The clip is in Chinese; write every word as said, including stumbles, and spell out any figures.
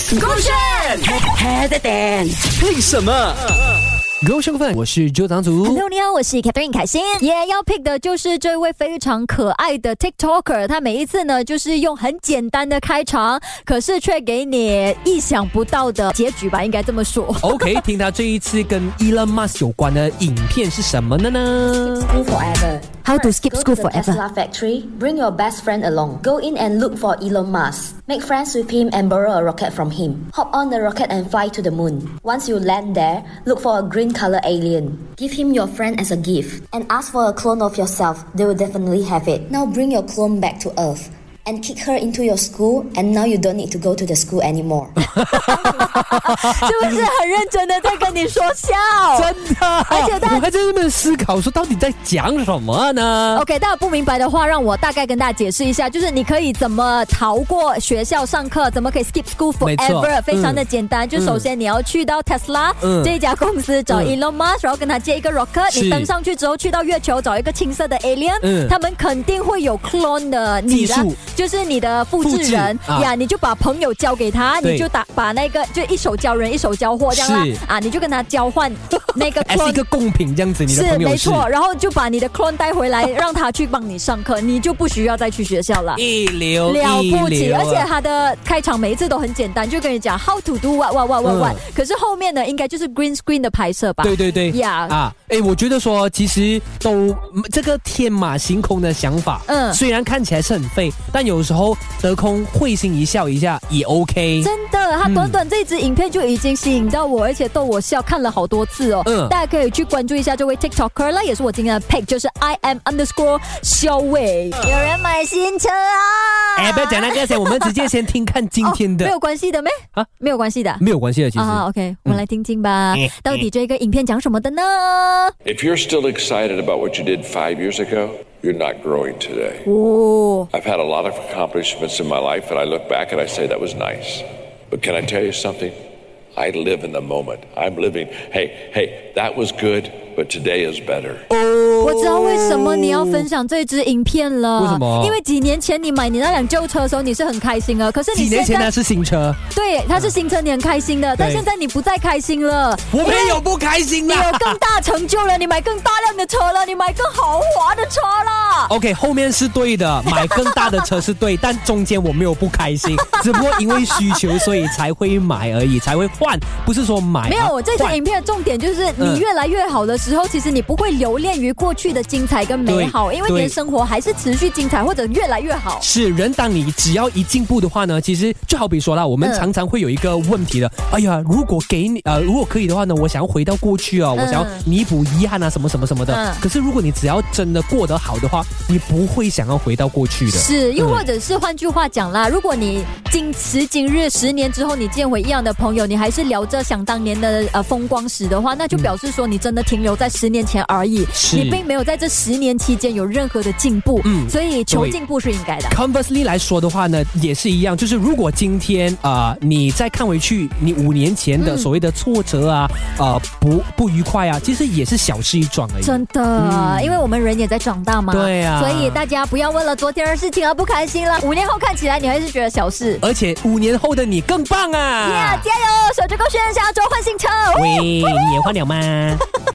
勾选 head and 为什么？各位兄弟，我是周长祖。 Hello， 你好，我是 Catherine 凯欣。也要 pick 的就是这位非常可爱的 TikToker， 他每一次呢就是用很简单的开场，可是却给你意想不到的结局吧，应该这么说。 OK， 听他这一次跟 Elon Musk 有关的影片是什么的呢 ？Skip school forever. How to skip Go school to the forever? Tesla factory. Bring your best friend along. Go in and look for Elon Musk. Make friends with him and borrow a rocket from him. Hop on the rocket and fly to the moon. Once you land there, look for a green color alien. Give him your friend as a gift and ask for a clone of yourself. They will definitely have it. Now bring your clone back to Earth and kick her into your school, and now you don't need to go to the school anymore. 是不是很认真的在跟你说笑？ 真的， 而且他我还在那边思考说到底在讲什么呢 ？OK， 大家不明白的话，让我大概跟大家解释一下，就是你可以怎么逃过学校上课，怎么可以 skip school 没错 forever，非常的嗯简单。就首先你要去到 Tesla、 嗯、 这一家公司找 Elon Musk，、嗯、然后跟他借一个 rocket， 是你登上去之后去到月球找一个青色的 alien，、 嗯、 他们肯定会有 clone 的你技术。 就是你的复制人复制、啊、 呀，你就把朋友交给他，你就打把那个就一手交人一手交货这样啦啊，你就跟他交换那个 clone 是一个贡品这样子，你的朋友是没错，然后就把你的 clone 带回来，让他去帮你上课，你就不需要再去学校了。 一流了不起， 一流啊、 而且他的开场每一次都很简单，就跟你讲 how to do what what what what what、嗯、可是后面呢，应该就是 green screen 的拍摄吧？ 对对对呀、yeah. 啊，哎，我觉得说其实都这个天马行空的想法，嗯，虽然看起来是很废，但有时候得空会心一笑一下也 OK。 真的，他短短这支影片就已经吸引到我，而且逗我笑，看了好多次哦。嗯，大家可以去关注一下这位 TikToker 啦，也是我今天的 pick， 就是 I am underscore 肖伟。有人买新车啊！ 哎，不要讲那个先，我们直接先听看今天的。 哦、没有关系的咩？啊，没有关系的， 没有关系的，其实。 啊 ，OK， 我们来听听吧，嗯、到底这个影片讲什么的呢 ？If you're still excited about what you did five years ago, you're not growing today. 哦 I've had a lot of accomplishments in my life, and I look back and I say that was nice. But can I tell you something? I live in the moment. I'm living, hey, hey, that was good, but today is better. 我知道为什么你要分享这支影片了。 为什么？ 因为几年前你买你那辆旧车的时候，你是很开心的。可是你几年前那是新车， 对，它是新车，你很开心的。但现在你不再开心了。 我没有不开心的。 你有更大成就了，你买更大辆的车了，你买更豪华的车了。 OK， 后面是对的，买更大的车是对，但中间我没有不开心，只不过因为需求所以才会买而已，才会换，不是说买。 没有，我这支影片的重点就是你越来越好的时候，嗯、其实你不会留恋于过去的精彩跟美好，因为你的生活还是持续精彩或者越来越好。 是人，当你只要一进步的话呢，其实就好比说啦，我们常常会有一个问题的，嗯、哎呀，如果给你呃，如果可以的话呢，我想要回到过去啊，嗯、我想要弥补遗憾啊，什么什么什么的。嗯、可是如果你只要真的过得好的话，你不会想要回到过去的。 是，又或者是换句话讲啦，如果你今时今日十年之后你见回一样的朋友，你还是聊着想当年的呃风光史的话，那就表示说你真的停留在十年前而已， 是你并没有在这十年期间有任何的进步。嗯，所以求进步是应该的。 Conversely 来说的话呢，也是一样，就是如果今天啊、呃、你再看回去，你五年前的所谓的挫折啊，嗯、呃不不愉快啊，其实也是小事一桩而已。 真的，嗯、因为我们人也在长大嘛。 对啊， 所以大家不要为了昨天的事情而不开心了。五年后看起来你还是觉得小事， 而且五年后的你更棒啊！ Yeah， 加油，守着勾选，下周换新车。 喂，你也换了吗？